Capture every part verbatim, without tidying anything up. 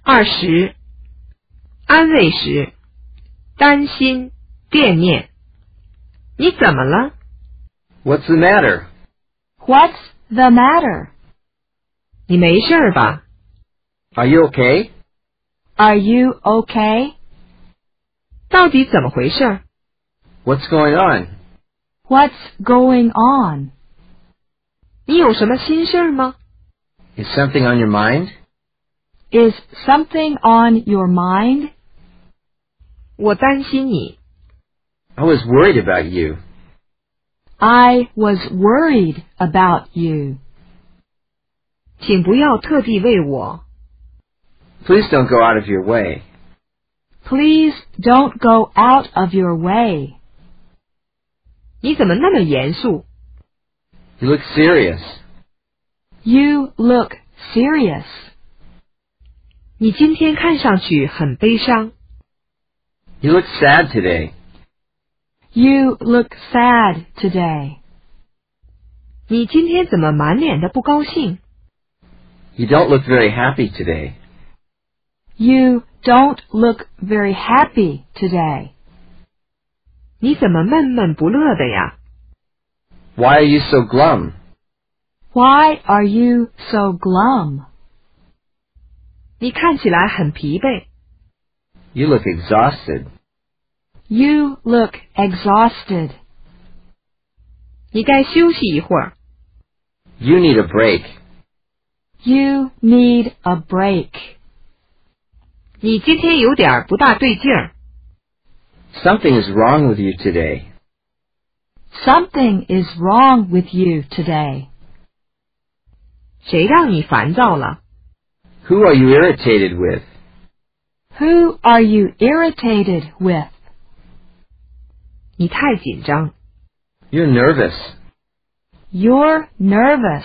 二十，安慰时，担心、惦念。你怎么了？ What's the matter? What's the matter? 你没事吧？ Are you okay? Are you okay? 到底怎么回事？ What's going on? What's going on? 你有什么心事吗？ Is something on your mind? Is something on your mind? 我担心你。 I was worried about you. I was worried about you. 请不要特地为我。 Please don't go out of your way. Please don't go out of your way. 你怎么那么严肃？ You look serious. You look serious. 你今天看上去很悲伤。 You look sad today. You look sad today. 你今天怎么满脸的不高兴？ You don't look very happy today. You don't look very happy today. 你怎么闷闷不乐的呀？ Why are you so glum? Why are you so glum? 你看起来很疲惫。 You look exhausted. You look exhausted. 你该休息一会儿。 You need a break. You need a break. 你今天有点不大对劲儿。 Something is wrong with you today. Something is wrong with you today. 谁让你烦躁了？ Who are you irritated with? Who are you irritated with? 你太紧张。 You're nervous. You're nervous.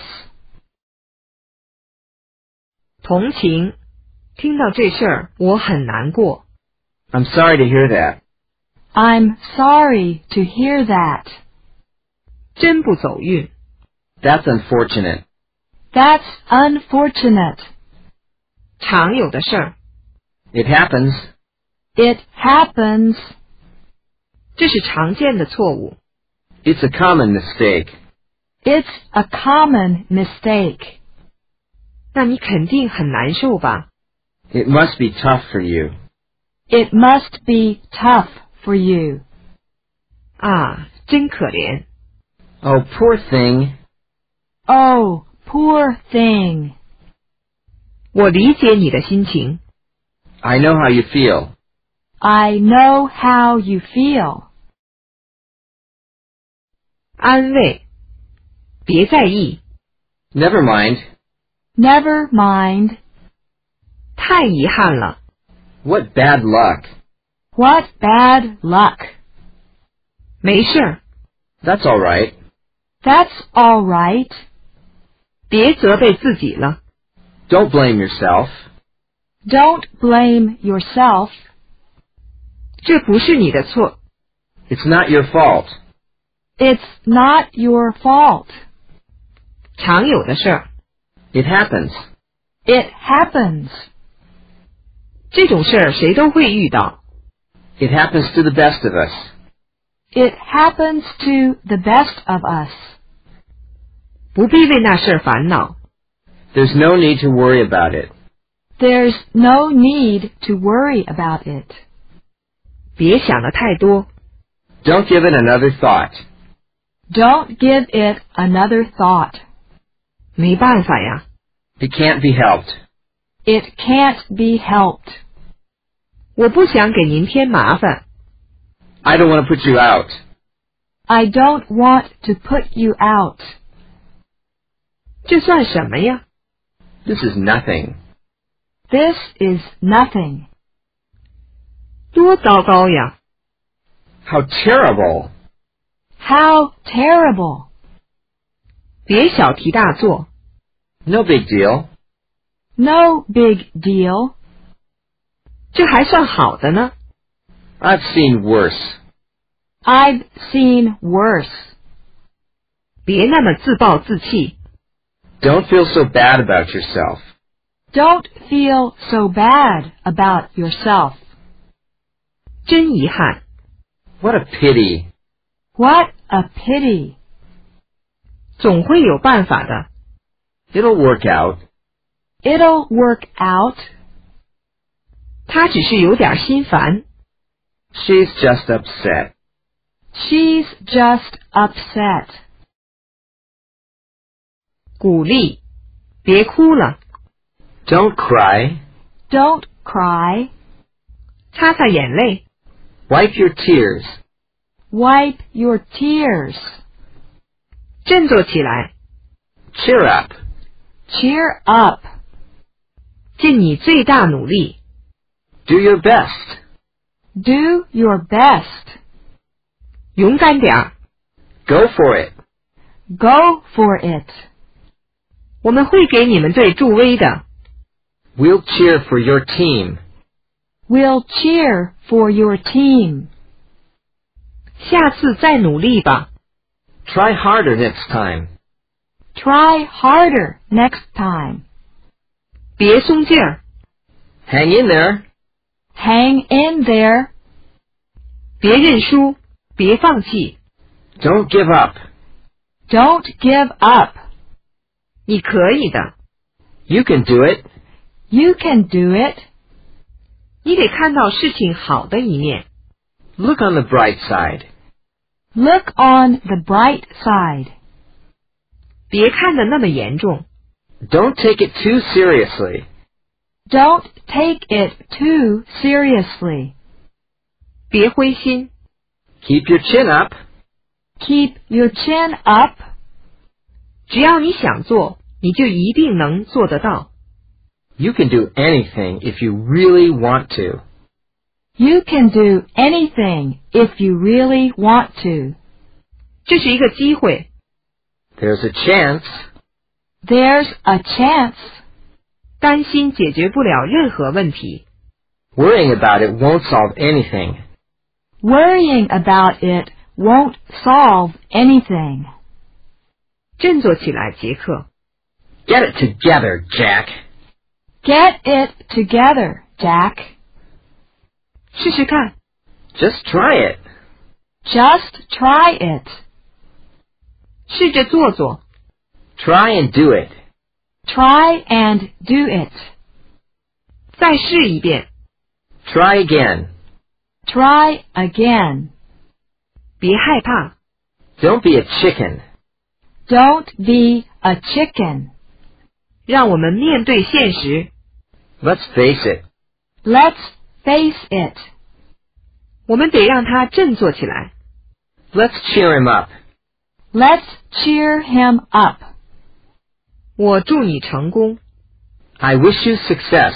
同情，听到这事儿我很难过。 I'm sorry to hear that. I'm sorry to hear that. 真不走运。 That's unfortunate. That's unfortunate. 常有的事儿。 It happens. It happens. 这是常见的错误。 It's a common mistake. It's a common mistake. 那你肯定很难受吧？ It must be tough for you. It must be tough for you. 啊，真可怜。 Oh, poor thing. Oh, poor thing. 我理解你的心情。 I know how you feel. I know how you feel. 安慰，别在意。 Never mind. Never mind. 太遗憾了。 What bad luck. What bad luck. 没事儿， That's all right. That's all right. 别责备自己了。 Don't blame yourself. Don't blame yourself. 这不是你的错。 It's not your fault. It's not your fault. 常有的事儿。 It happens. It happens. 这种事儿谁都会遇到。 It happens to the best of us. It happens to the best of us. 不必为那事儿烦恼。 There's no need to worry about it. There's no need to worry about it. 别想得太多。 Don't give it another thought. Don't give it another thought. 没办法呀。 It can't be helped. It can't be helped. 我不想给您添麻烦。 I don't want to put you out. I don't want to put you out. 这算什么呀？ This is nothing. This is nothing. 多糟糕呀！ How terrible. How terrible. 别小题大做。 No big deal. No big deal. 这还算好的呢。 I've seen worse. I've seen worse. 别那么自暴自弃。 Don't feel so bad about yourself. Don't feel so bad about yourself. 真遗憾， What a pity. What a pity. 总会有办法的。 It'll work out. It'll work out. 他只是有点心烦。 She's just upset. She's just upset. 鼓励，别哭了， Don't cry. Don't cry. 擦擦眼泪， Wipe your tears. Wipe your tears. 振作起来， Cheer up. Cheer up. 尽你最大努力， Do your best. Do your best. 勇敢点儿， Go for it. Go for it. 我们会给你们队助威的。 We'll cheer for your team. We'll cheer for your team. 下次再努力吧， Try harder next time. Try harder next time. 别松劲儿， Hang in there. Hang in there. 别认输，别放弃， Don't give up. Don't give up. 你可以的。 You can do it. You can do it. 你得看到事情好的一面， Look on the bright side. Look on the bright side. 别看得那么严重， Don't take it too seriously. Don't take it too seriously. 别灰心， Keep your chin up. Keep your chin up. 只要你想做，你就一定能做得到。 You can do anything if you really want to. You can do anything if you really want to. 这是一个机会， There's a chance. There's a chance. 担心解决不了任何问题， Worrying about it won't solve anything. Worrying about it won't solve anything. 振作起来，杰克。 Get it together, Jack. Get it together, Jack. 试试看， Just try it. Just try it. 试着做做， Try and do it. Try and do it. 再试一遍， Try again. Try again. 别害怕， Don't be a chicken. Don't be a chicken. 让我们面对现实。 Let's face it. Let's face it. 我们得让他振作起来。 Let's cheer him up. Let's cheer him up. 我祝你成功。 I wish you success.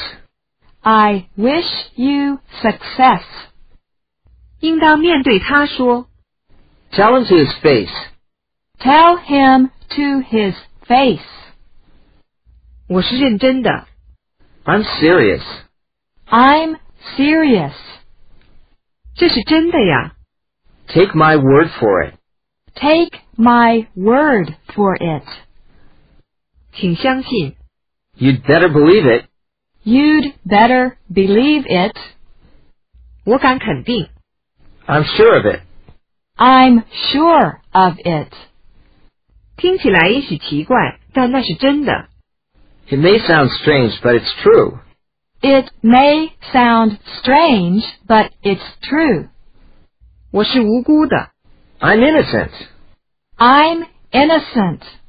I wish you success. 应当面对他说， Tell him to his face. Tell him to his face. 我是认真的， I'm serious. I'm serious. 这是真的呀。 Take my word for it. Take my word for it. 请相信， You'd better believe it. You'd better believe it. 我敢肯定， I'm sure of it. I'm sure of it. 听起来也许奇怪，但那是真的。 It may sound strange, but it's true. It may sound strange, but it's true. 我是无辜的， I'm innocent. I'm innocent.